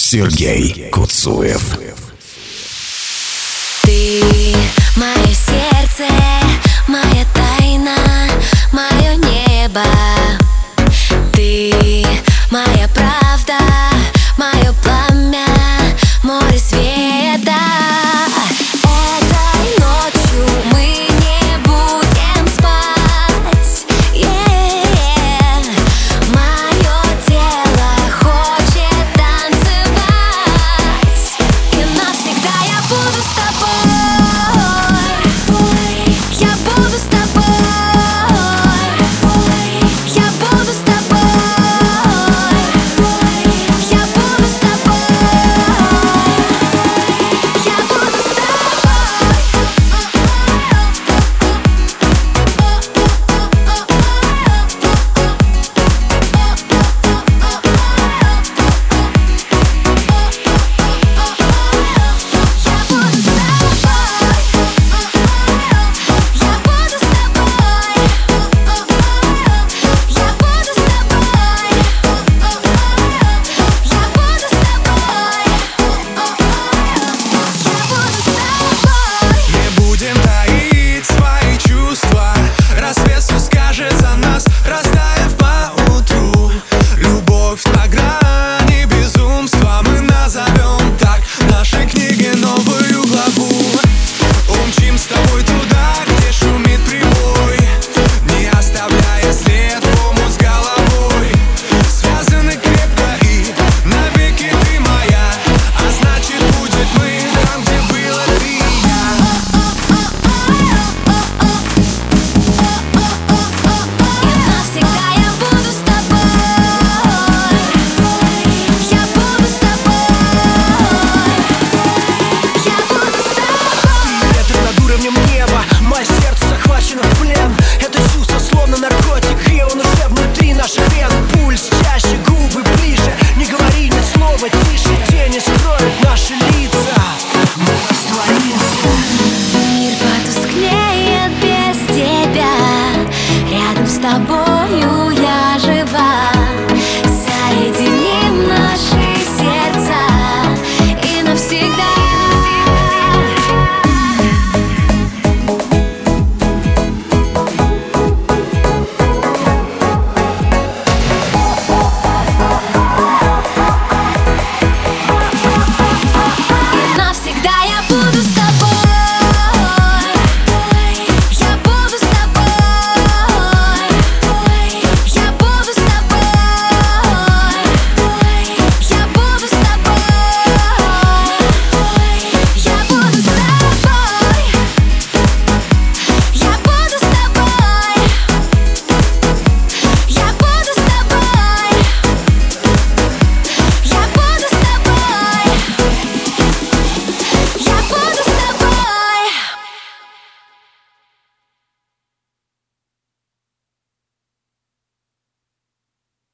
Сергей Куцуев. Ты мое сердце, моя тайна, мое небо. Ты моя правда, мое пламя, море света. Этой ночью мы не будем спать. Мое тело хочет танцевать, и навсегда я буду с тобой. Я буду с тобой. Я буду с тобой. Я буду с тобой. Я буду с это чувство словно наркотик, и он уже внутри наших вен. Пульс чаще, губы ближе, не говори ни слова тише.